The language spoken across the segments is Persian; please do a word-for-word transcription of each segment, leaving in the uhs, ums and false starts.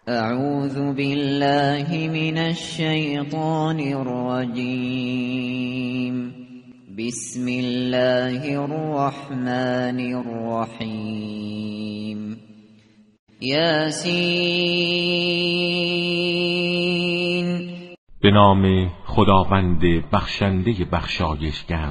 اعوذ بالله من الشیطان الرجیم. بسم الله الرحمن الرحیم. یاسین. به نام خداوند بخشنده بخشایشگر.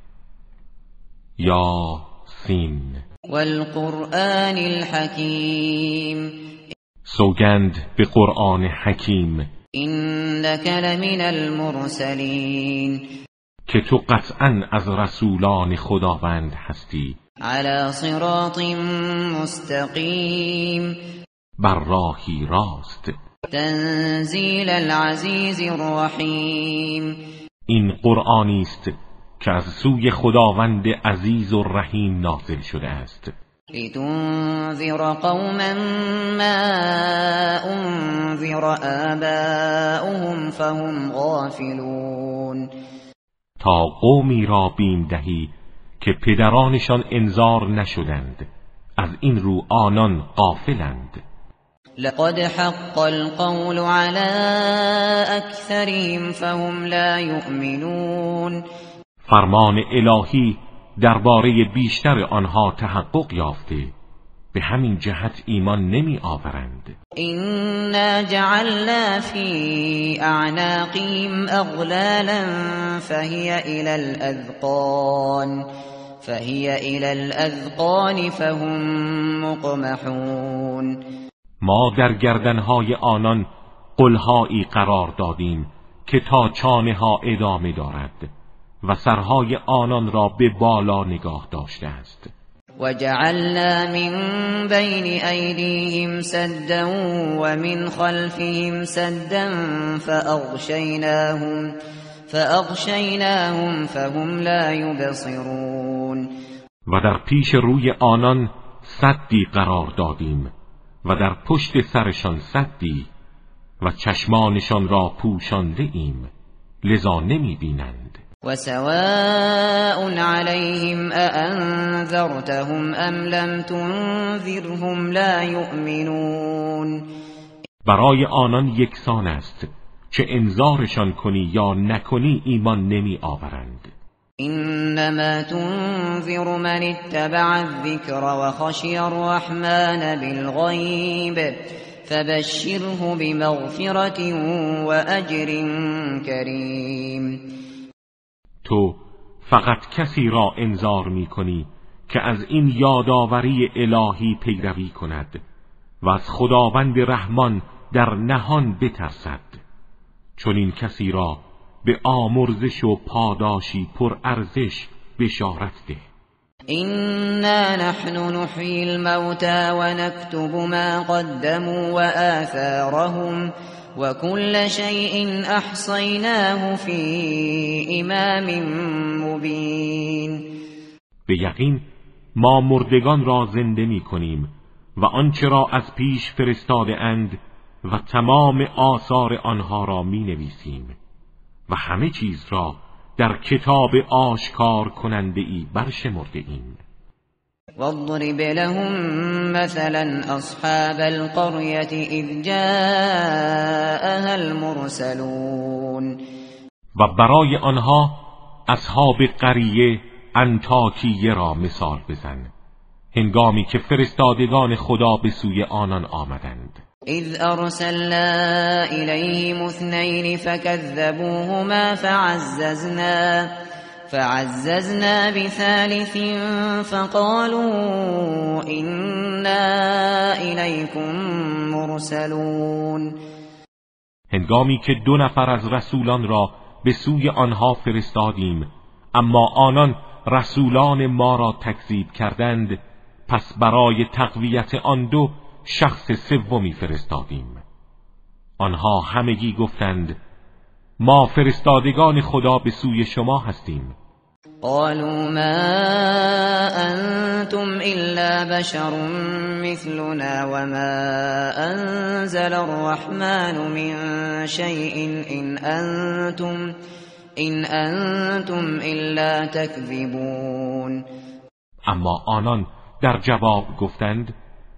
یاسین. والقرآن الحکیم. سوگند به قرآن حکیم. انک لمن المرسلین. که تو قطعا از رسولان خداوند هستی. علی صراط مستقیم. بر راهی راست. تنزیل العزیز الرحیم. این قرآنی است که از سوی خداوند عزیز و رحیم نازل شده است. لتنذر قوما ما انذر آباؤهم فهم غافلون. تا قومی را بیم دهی که پدرانشان انذار نشدند، از این رو آنان غافلند. لقد حق القول على اکثرهم فهم لا یؤمنون. فرمان الهی درباره بیشتر آنها تحقق یافته، به همین جهت ایمان نمی آورند. إنا جعلنا في أعناقهم أغلالا فهي إلى الأذقان فهي إلى الأذقان فهم مقمحون. ما در گردنهای آنان قلهایی قرار دادیم که تا چانه ها ادامه دارد و سرهای آنان را به بالا نگاه داشته است. وجعلنا من بين أيديهم سدا ومن خلفهم سدا فأغشيناهم فأغشيناهم فهم لا يبصرون. و در پیش روی آنان سدی قرار دادیم و در پشت سرشان سدی و چشمانشان را پوشانده ایم، لذا نمی بینند. وسواء عليهم أأنذرتهم أم لم تنذرهم لا يؤمنون. برای آنان یکسان است چه انذارشان کنی یا نکنی ایمان نمی آورند. انما تنذر من اتبع الذکر وخشی الرحمن بالغیب فبشره بمغفرة وأجر کریم. تو فقط کسی را انذار می کنی که از این یادآوری الهی پیروی کند و از خداوند رحمان در نهان بترسد. چون این کسی را به آمرزش و پاداشی پر ارزش بشارت ده. إنا نحن نحيي الموتى ونكتب ما قدموا وآثارهم وكل شيء أحصيناه في إمام مبين. به یقین ما مردگان را زنده می کنیم و آنچه را از پیش فرستاده اند و تمام آثار آنها را می نویسیم و همه چیز را در کتاب آشکار کننده ای برشمرده ایم. واضرب لهم مثلا اصحاب القرية اذ جاءها المرسلون. و برای آنها اصحاب قریه انطاکیه را مثال بزن، هنگامی که فرستادگان خدا به سوی آنان آمدند. اذ ارسلنا الیهم اثنین فکذبوهما فعززنا فعززنا بثالث فقالوا انا الیکم مرسلون. هنگامی که دو نفر از رسولان را به سوی آنها فرستادیم اما آنان رسولان ما را تکذیب کردند، پس برای تقویت آن دو شخص سومی فرستادیم. آنها همگی گفتند ما فرستادگان خدا به سوی شما هستیم. قالوا ما انتم الا بشر مثلنا وما انزل الرحمن من شيء ان انتم ان انتم الا تكذبون. اما آنان در جواب گفتند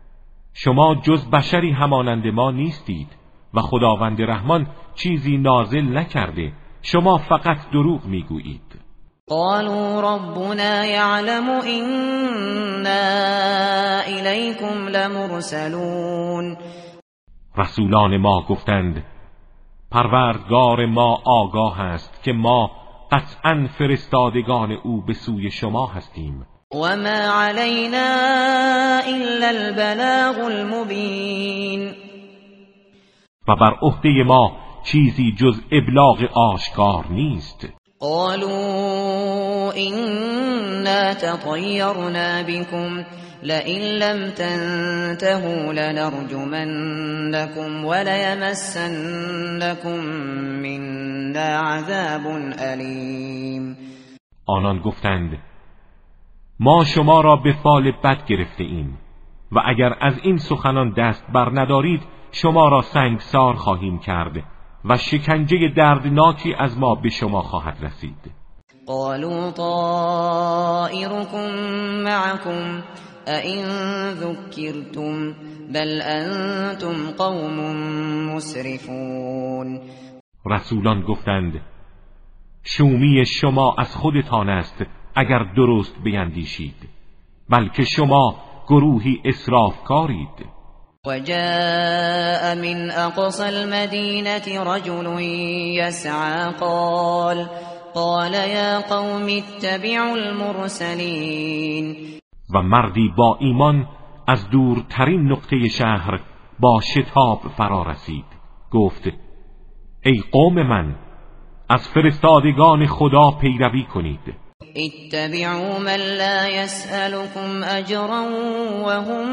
شما جز بشری همانند ما نیستید و خداوند رحمان چیزی نازل نکرده، شما فقط دروغ میگویید. قالوا ربنا يعلم إنا إليكم لمرسلون. رسولان ما گفتند پروردگار ما آگاه است که ما قطعاً فرستادگان او به سوی شما هستیم. وما علينا إلا البلاغ المبين. و بر عهده ما چیزی جز ابلاغ آشکار نیست. قالوا إنا تطيرنا بكم لئن لم تنتهوا لنرجمنكم وليمسنكم منا عذاب أليم. آنان گفتند ما شما را به فال بد گرفته ایم و اگر از این سخنان دست بر ندارید شما را سنگسار خواهیم کرد و شکنجه دردناکی از ما به شما خواهد رسید. قالوا طائركم معكم أئن ذكرتم بل أنتم قوم مسرفون. رسولان گفتند شومی شما از خودتان است اگر درست بیندیشید، بلکه شما گروهی اسرافکارید. وجاء من أقصى المدينة رجل يسعى قال قال يا قوم اتبعوا المرسلين. و مردی با ایمان از دورترین نقطه شهر با شتاب فرا رسید، گفت ای قوم من، از فرستادگان خدا پیروی کنید. اتبعوا من لا يسألكم أجرا وهم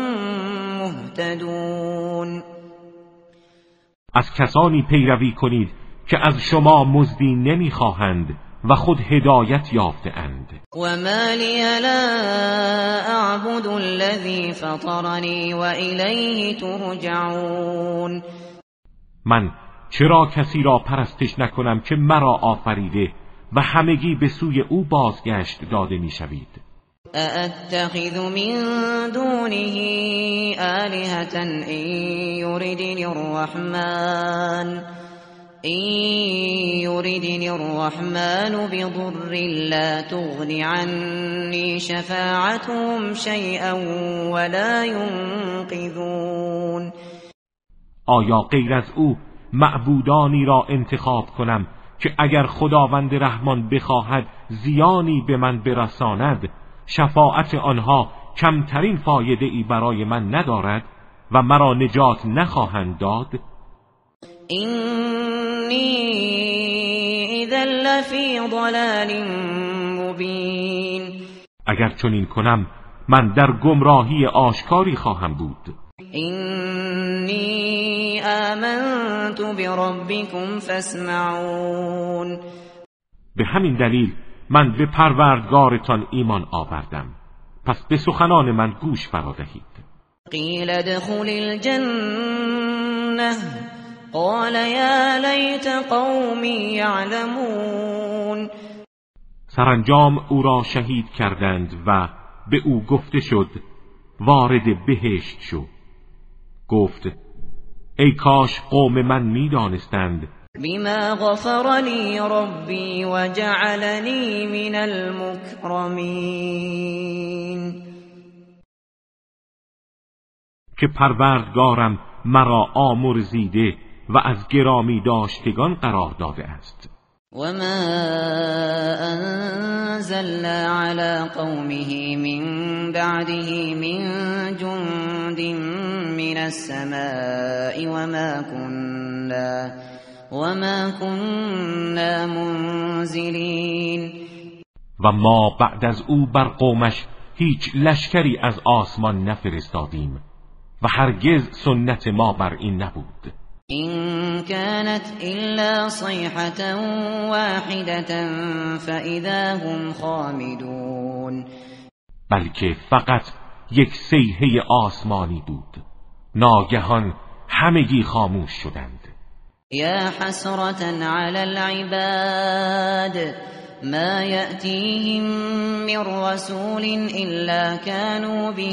مهتدون. از کسانی پیروی کنید که از شما مزدی نمیخواهند و خود هدایت یافته اند. وما لي لا أعبد الذي فطرني وإليه ترجعون. من چرا کسی را پرستش نکنم که مرا آفریده و همگی به سوی او بازگشت داده میشوید. أأتخذ من دونه آلهة إن يردني الرحمن إن يردني الرحمن بضر لا تغن عني شفاعتهم شيئا ولا ينقذون. آیا غیر از او معبودانی را انتخاب کنم که اگر خداوند رحمان بخواهد زیانی به من برساند شفاعت آنها کمترین فایده ای برای من ندارد و مرا نجات نخواهند داد؟ اینی اذا لفی ضلال مبین. اگر چنین کنم من در گمراهی آشکاری خواهم بود. اینی آمنت بربکم فاسمعون. به همین دلیل من به پروردگارتان ایمان آوردم، پس به سخنان من گوش فرا دهید. قیل ادخل الجنة قال یا لیت قومی یعلمون. سرانجام او را شهید کردند و به او گفته شد وارد بهشت شو. گفت ای کاش قوم من می دانستند. بما غفر لی ربی و جعلنی من المکرمین. که پروردگارم مرا آمرزیده و از گرامی داشتگان قرار داده است. وما أنزلنا على قومه من بعده من جند من السماء وما كنا وما كنا منزلين. و ما بعد از او بر قومش هیچ لشکری از آسمان نفرستادیم و هرگز سنت ما بر این نبود. إن كانت إلا صيحة واحدة فإذا هم خامدون. بلکه فقط یک صیحه آسمانی بود، ناگهان همگی خاموش شدند. یا حسرة على العباد ما يأتيهم من رسول إلا كانوا به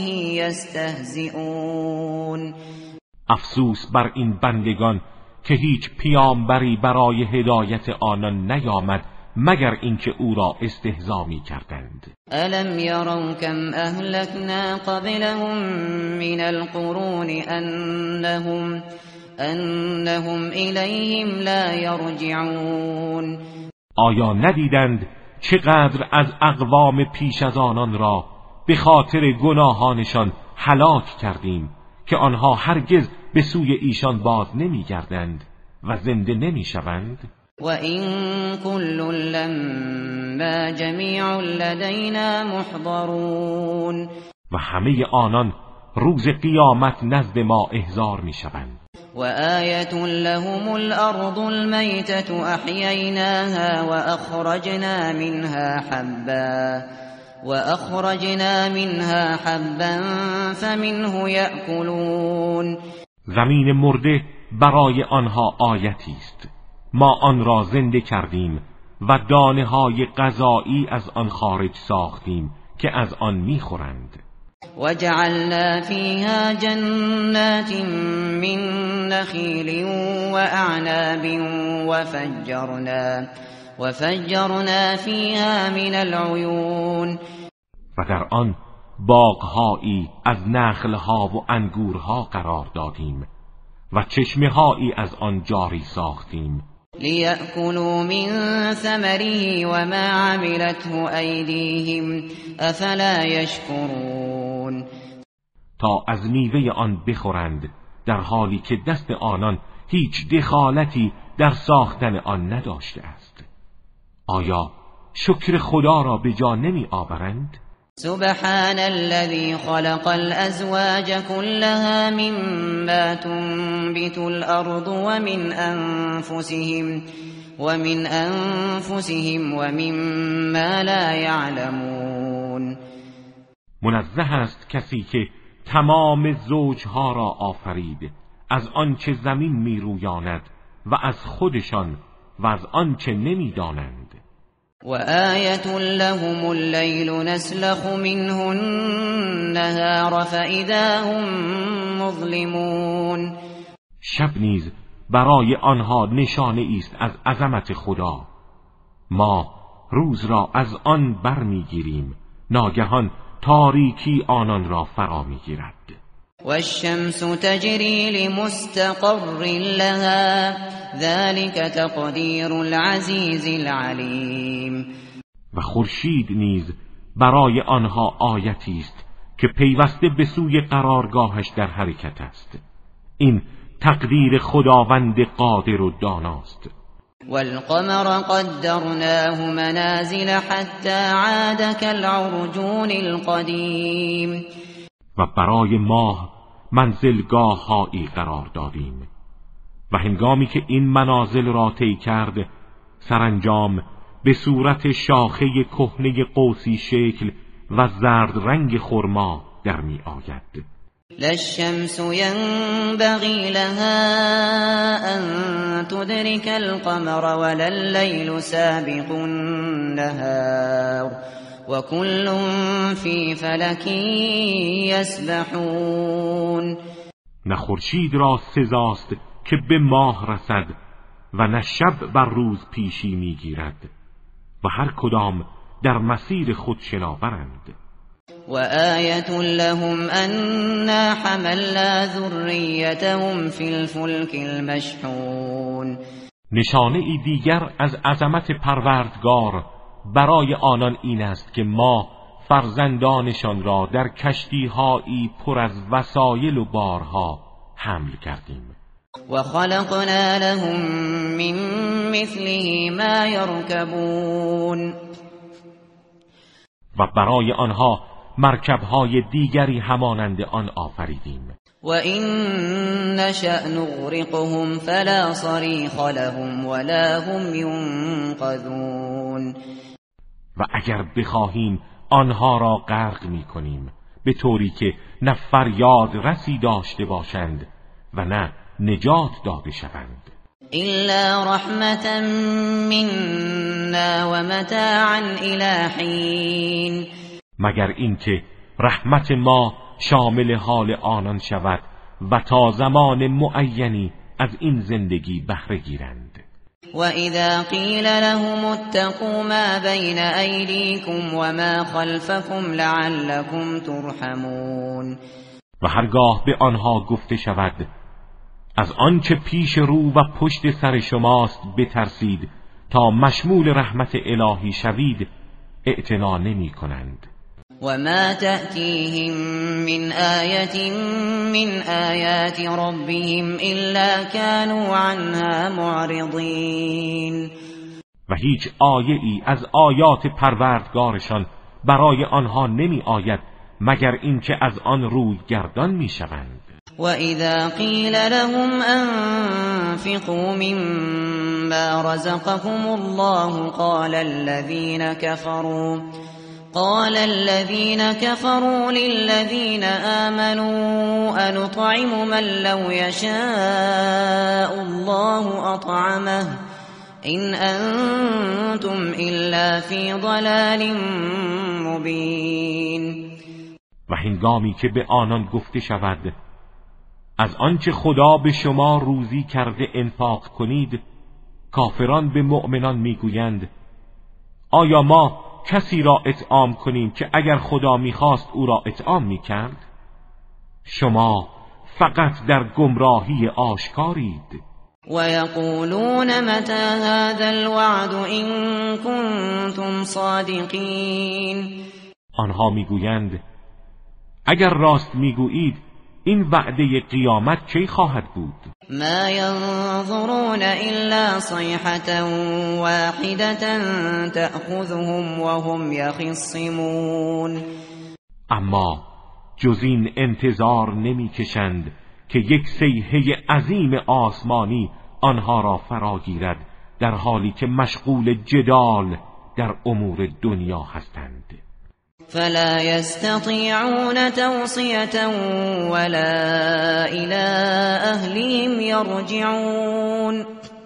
يستهزئون. افسوس بر این بندگان که هیچ پیامبری برای هدایت آنان نیامد مگر اینکه او را استهزا می‌کردند. الم یروا کم اهلکنا قبلهم من القرون انهم انهم الیهم لا یرجعون. آیا ندیدند چقدر از اقوام پیش از آنان را به خاطر گناهانشان هلاک کردیم که آنها هرگز به سوی ایشان باز نمی‌گردند و زنده نمی‌شوند؟ و این کل لما جمیع لدینا محضرون. و همه آنان روز قیامت نزد ما احضار می‌شوند. و آیة لهم الارض المیتة احییناها و اخرجنا منها حبا و اخرجنا منها حبا فمنه یأکلون. زمین مرده برای آنها آیتی است. ما آن را زنده کردیم و دانه های غذایی از آن خارج ساختیم که از آن میخورند. و جعلنا فیها جنات من نخیل و اعناب و فجرنا و فجرنا فیها من العیون. و در آن باغهایی از نخلها و انگورها قرار دادیم و چشمه‌هایی از آن جاری ساختیم. لیأکلوا من ثمره و ما عملته ایدیهم افلا یشکرون. تا از میوه آن بخورند در حالی که دست آنان هیچ دخالتی در ساختن آن نداشته است. آیا شکر خدا را به جا نمی آورند؟ سبحان الذي خلق الأزواج كلها مما تنبت الأرض ومن أنفسهم ومن أنفسهم ومما لا يعلمون. منزه است کسی که تمام زوجها را آفرید، از آنچه زمین می رویاند و از خودشان و از آنچه نمی دانند. و آیة لهم اللیل نسلخ منه النهار فاذا هم مظلمون. شب نیز برای آنها نشانه است از عظمت خدا. ما روز را از آن برمیگیریم، ناگهان تاریکی آنان را فرا میگیرد. و الشمس تجری لمستقر لها ذلك تقدیر العزیز العلیم. و خورشید نیز برای آنها آیتی است که پیوسته به سوی قرارگاهش در حرکت است. این تقدیر خداوند قادر و داناست. والقمر قدرناه منازل حتى عاد كالعرجون القدیم. و برای ماه منزلگاه هایی قرار دادیم و هنگامی که این منازل را طی کرد سرانجام به صورت شاخه کهنه قوسی شکل و زرد رنگ خرما در می آید. لا الشمس ينبغي لها أن تدرك القمر ولا الليل سابق النهار وكل في فلك يسبحون. نه خورشید را سزاست که به ماه رسد و نه شب بر روز پیشی میگیرد و هر کدام در مسیر خود شناورند. و آیة لهم أنا حملنا ذریتهم فی الفلک المشحون. نشانه ای دیگر از عظمت پروردگار برای آنان این است که ما فرزندانشان را در کشتی‌هایی پر از وسایل و بارها حمل کردیم. و خلقنا لهم من مثله ما یرکبون. و برای آنها مرکب‌های دیگری همانند آن آفریدیم. و این نشأ نغرقهم فلا صریخ لهم ولا هم ینقذون. و اگر بخواهیم آنها را غرق می‌کنیم به طوری که نه فریاد رسی داشته باشند و نه نجات داده شوند. إلا رحمة منا ومتاعا إلى حين. مگر اینکه رحمت ما شامل حال آنان شود و تا زمان معینی از این زندگی بهره گیرند. وَإِذَا قِيلَ لَهُمُ اتَّقُوا مَا بَيْنَ أَيْدِيكُمْ وَمَا خَلْفَكُمْ لَعَلَّكُمْ تُرْحَمُونَ. و هرگاه به آنها گفته شود از آنچه پیش رو و پشت سر شماست بترسید تا مشمول رحمت الهی شوید، اعتنا نمی کنند. وَمَا تَأْتِيهِمْ مِنْ آيَةٍ مِنْ آيَاتِ رَبِّهِمْ إِلَّا كَانُوا عَنْهَا مُعْرِضِينَ. و هیچ آیه ای از آیات پروردگارشان برای آنها نمی آید مگر اینکه از آن روی گردان می شوند. وَإِذَا قِيلَ لَهُمْ أَنفِقُوا مِمَّا رَزَقَكُمُ اللَّهُ قَالَ الَّذِينَ كَفَرُوا قال الذين كفروا للذين آمنوا أنطعم من لو يشاء الله أطعمه إن أنتم إلا في ضلال مبين. و هنگامی که به آنان گفته شود از آنچه خدا به شما روزی کرده انفاق کنید، کافران به مؤمنان میگویند آیا ما کسی را اطعام کنیم که اگر خدا میخواست او را اطعام میکرد؟ شما فقط در گمراهی آشکارید. و یقولون متى هذا الوعد ان کنتم صادقین. آنها میگویند اگر راست میگویید این وعده قیامت کی خواهد بود؟ ما ينظرون الا صيحة واحدة تأخذهم وهم يخصمون. اما جز این انتظار نمیکشند که یک صیحه عظیم آسمانی آنها را فرا گیرد در حالی که مشغول جدال در امور دنیا هستند. فلا يستطيعون توصية ولا إلى أهلهم يرجعون.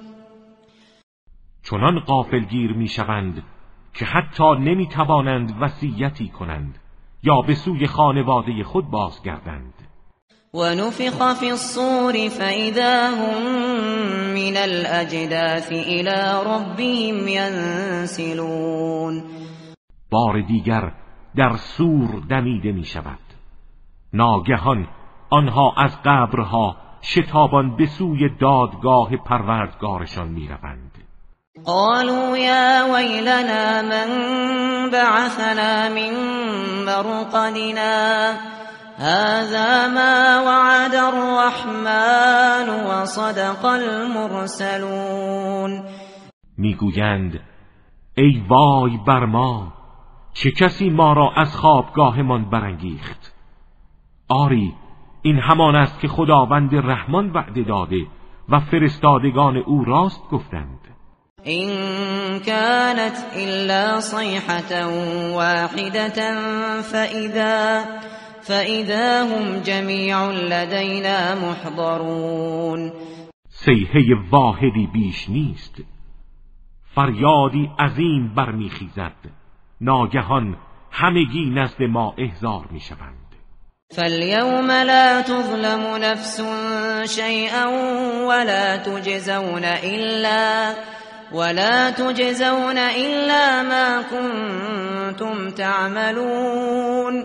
چنان غافلگیر میشوند که حتی نمیتوانند وصیتی کنند یا به سوی خانواده خود بازگردند. ونفخ في الصور فإذا هم من الأجداث إلى ربهم ينسلون. بار دیگر در سور دمیده می شود. ناگهان آنها از قبرها شتابان به سوی دادگاه پروردگارشان می روند. قالوا یا ویلنا من بعثنا من مرقدنا هذا ما وعد الرحمن وصدق المرسلون. میگویند ای وای بر ما، چه کسی ما را از خوابگاهمان برانگیخت؟ آری این همان است که خداوند رحمان وعده داده و فرستادگان او راست گفتند. این كانت الا صیحة واحدة فاذا فاذا هم جمیع لدینا محضرون. صیحه واحدی بیش نیست، فریادی عظیم برمیخیزد، ناگهان همگی نزد ما احضار میشوند. فاليوم لا تظلم نفس شيئا ولا تجزون الا ولا تجزون الا ما كنتم تعملون.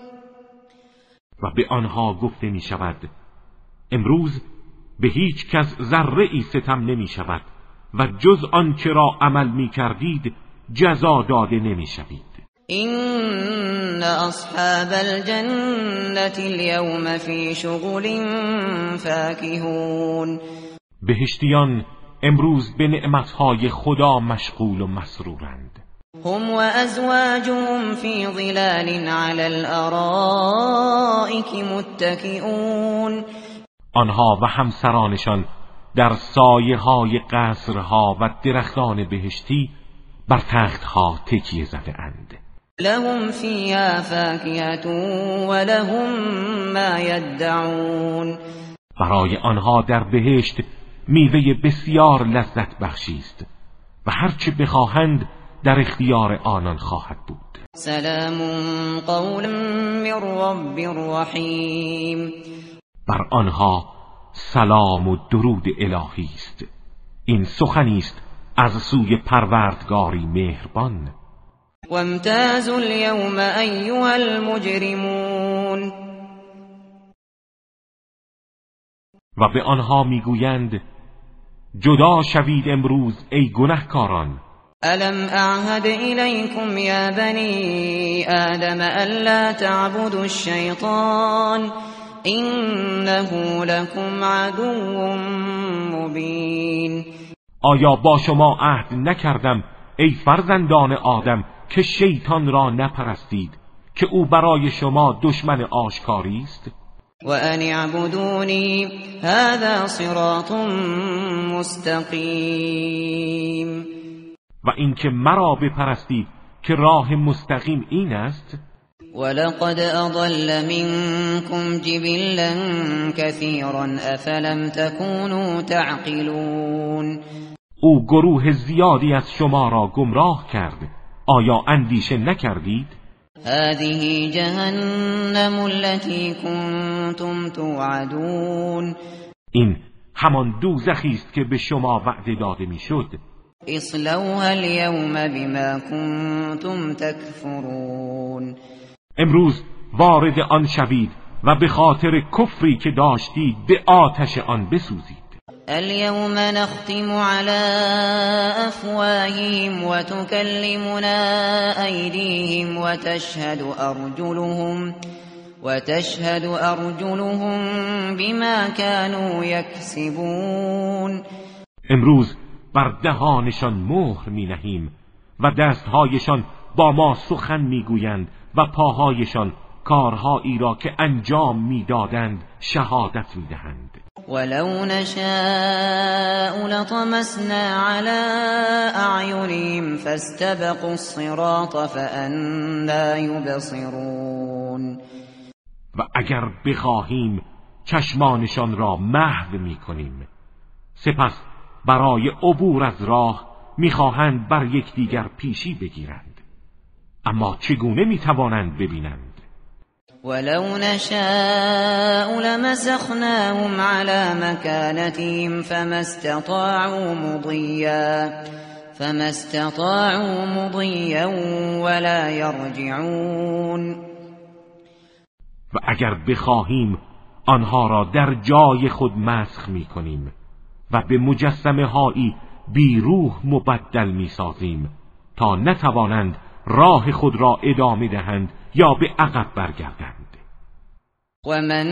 و به آنها گفته می شود امروز به هیچ کس ذره ای ستم نمی شود و جز آنچه را عمل می کردید جزا داده نمی شوید. این اصحاب الجنة اليوم فی شغل فاکهون. بهشتیان امروز به نعمتهای خدا مشغول و مسرورند. هم و ازواجهم فی ظلال علی الارائک متکئون. آنها و همسرانشان در سایه های قصرها و درختان بهشتی بر تختها تکیه زده اند. لهم فیها فاکهة و لهم ما یدعون. برای آنها در بهشت میوه بسیار لذت بخشی است و هرچه بخواهند در اختیار آنان خواهد بود. سلام قولا من رب رحیم. بر آنها سلام و درود الهی است. این سخنی است از سوی پروردگاری مهربان. وامتازوا اليوم ایها المجرمون. و به آنها میگویند جدا شوید امروز ای گنهکاران. الم اعهد الیکم یا بنی آدم الا تعبدوا الشیطان انه لكم عدو مبین. آیا با شما عهد نکردم ای فرزندان آدم که شیطان را نپرستید که او برای شما دشمن آشکاری است؟ و ان اعبدونی هذا صراط مستقیم. و اینکه مرا بپرستید که راه مستقیم این است. ولقد اضل منكم جبلا كثيرا افلم تكونوا تعقلون. او گروه زیادی از شما را گمراه کرد، آیا اندیشه نکردید؟ هذه جهنم التي كنتم توعدون. این همان دوزخی است که به شما وعده داده میشد. اصلوها اليوم بما كنتم تكفرون. امروز وارد آن شوید و به خاطر کفری که داشتید به آتش آن بسوزید. اليوم نختم على افواههم وتكلمنا ايديهم وتشهد ارجلهم وتشهد ارجلهم بما كانوا يكسبون. امروز بر دهانشان مهر می نهیم و دستهایشان با ما سخن می گویند و پاهایشان کارهایی را که انجام می دادند شهادت می دهند. ولو نشاء لطمسنا على اعینهم فاستبقوا الصراط فأنى یبصرون. و اگر بخواهیم چشمانشان را محو می کنیم، سپس برای عبور از راه میخواهند بر یکدیگر پیشی بگیرند، اما چگونه میتوانند ببینند؟ ولو نشاء لمسخناهم على مكانتهم فما استطاعوا مضيا فما استطاعوا مضيا ولا يرجعون. و اگر بخواهیم آنها را در جای خود مسخ میکنیم و به مجسمه هایی بی روح مبدل می سازیم تا نتوانند راه خود را ادامه دهند یا به عقب برگردند. و من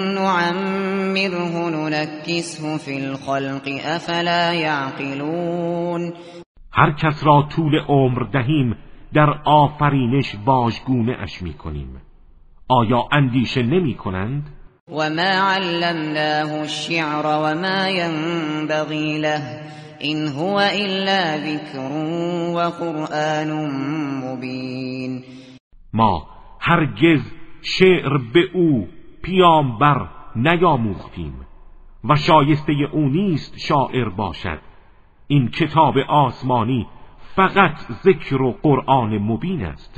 نعمره ننکسه فی الخلق افلا یعقلون. هر کس را طول عمر دهیم در آفرینش واژگونه اش می کنیم، آیا اندیشه نمی کنند؟ وما علمناه الشعر وما ينبغي له إن هو إلا ذكر وقرآن مبين. ما هرگز شعر به او پیامبر نیاموختیم و شایسته او نیست شاعر باشد. این کتاب آسمانی فقط ذکر و قرآن مبین است.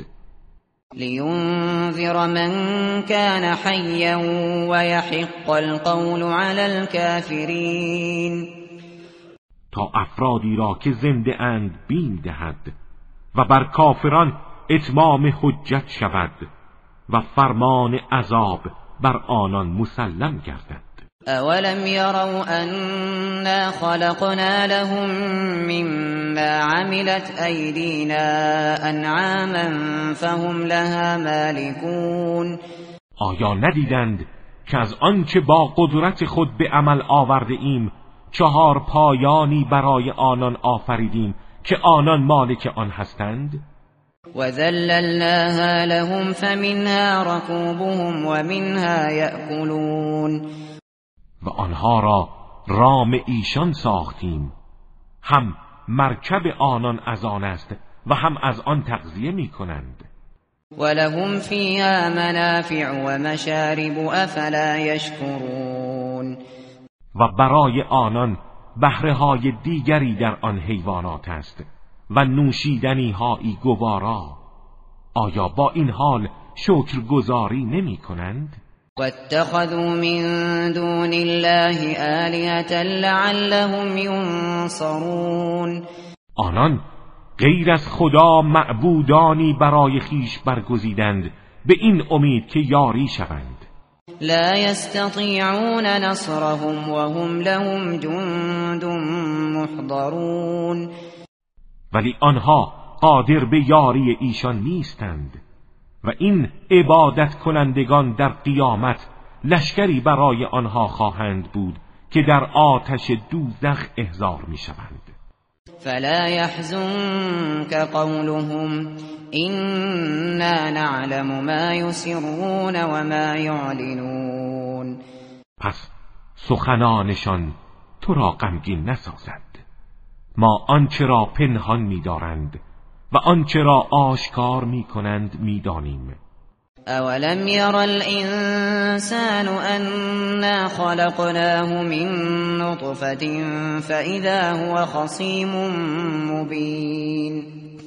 لینذر من کان حیا و یحق القول علی الكافرین. تا افرادی را که زنده اند بیم دهد و بر کافران اتمام حجت شود و فرمان عذاب بر آنان مسلم گردد. اولم یروا انا خلقنا لهم مما عملت ایدینا انعاما فهم لها مالکون. آیا ندیدند که از آنچه با قدرت خود به عمل آورده ایم چهار پایانی برای آنان آفریدیم که آنان مالک آن هستند؟ و ذللناها لهم فمنها رکوبهم و منها یأکلون. و آنها را رام ایشان ساختیم، هم مرکب آنان از آن است و هم از آن تغذیه می کنند. ولهم فیها منافع و مشارب افلا یشکرون. و برای آنان بهره‌های دیگری در آن حیوانات است و نوشیدنی هایی گوارا. آیا با این حال شکرگزاری نمی کنند؟ واتخذوا من دون الله آلهة لعلهم ینصرون. آنان غیر از خدا معبودانی برای خیش برگزیدند به این امید که یاری شوند. لا يستطيعون نصرهم وهم لهم جند محضرون. ولی آنها قادر به یاری ایشان نیستند و این عبادت کنندگان در قیامت لشکری برای آنها خواهند بود که در آتش دوزخ احضار می شوند. فلا يحزنك قولهم إنا نعلم ما يسرون وما يعلنون. پس سخنانشان تو را غمگین نسازد. ما آنچه را پنهان می‌دارند و آنچه را آشکار می‌کنند می‌دانیم. اولم ير الانسان انا خلقناه من نطفة فاذا هو خصيم مبين.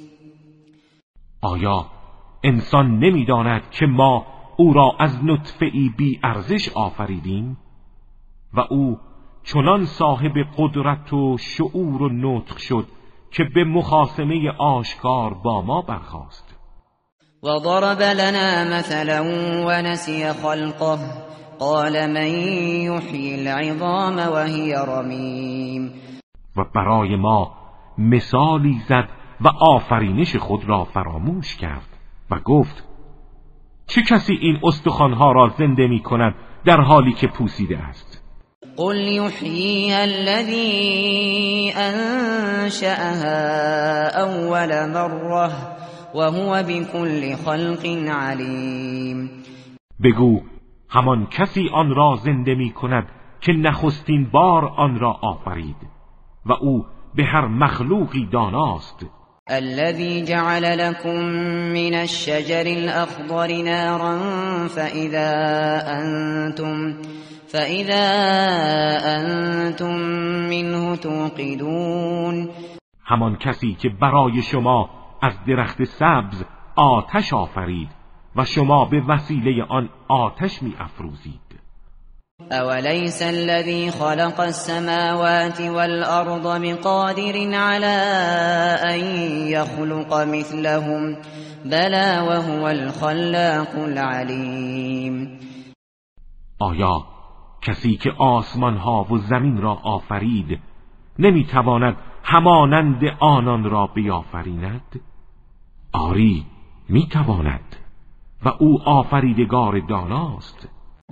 آیا انسان نمی‌داند که ما او را از نطفه‌ای بی ارزش آفریدیم و او چنان صاحب قدرت و شعور و نطق شد که به مخاصمه آشکار با ما برخاست. وضرب لنا مثلا ونسي خلقه قال من يحيي العظام وهي رميم. و برای ما مثالی زد و آفرینش خود را فراموش کرد و گفت چه کسی این استخوانها را زنده می کند در حالی که پوسیده است؟ قل يحييها الذي أنشأها أول مرة وهو بكل خلق عليم. بگو همان کسی آن را زنده می کند که نخستین بار آن را آفرید و او به هر مخلوقی داناست. الذي جعل لكم من الشجر الأخضر نارا فإذا أنتم فإذا أنتم منه توقدون. همان کسی که برای شما از درخت سبز آتش آفرید و شما به وسیله آن آتش می افروزید. أوليس الذي خلق السماوات والأرض بقادر على أن يخلق مثلهم بلى وهو الخلاق العليم. آیا کسی که آسمان ها و زمین را آفرید نمیتواند همانند آنان را بیافریند؟ آری میتواند و او آفریدگار داناست.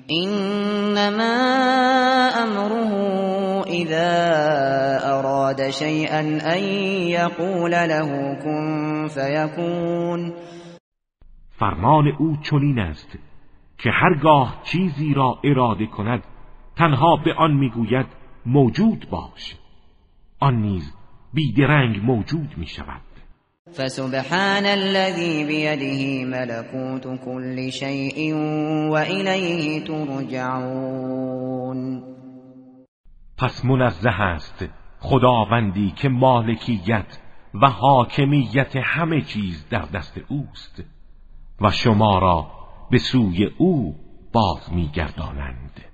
انما امره اذا اراد شيئا ان يقول له كن فيكون. فرمان او چنین است که هرگاه چیزی را اراده کند تنها به آن میگوید موجود باش، آن نیز بیدرنگ موجود می شود. فسبحان الذي بيده ملكوت كل شيء وإليه ترجعون. پس منزه است خداوندی که مالکیت و حاکمیت همه چیز در دست اوست و شما را به سوی او باز می‌گردانند.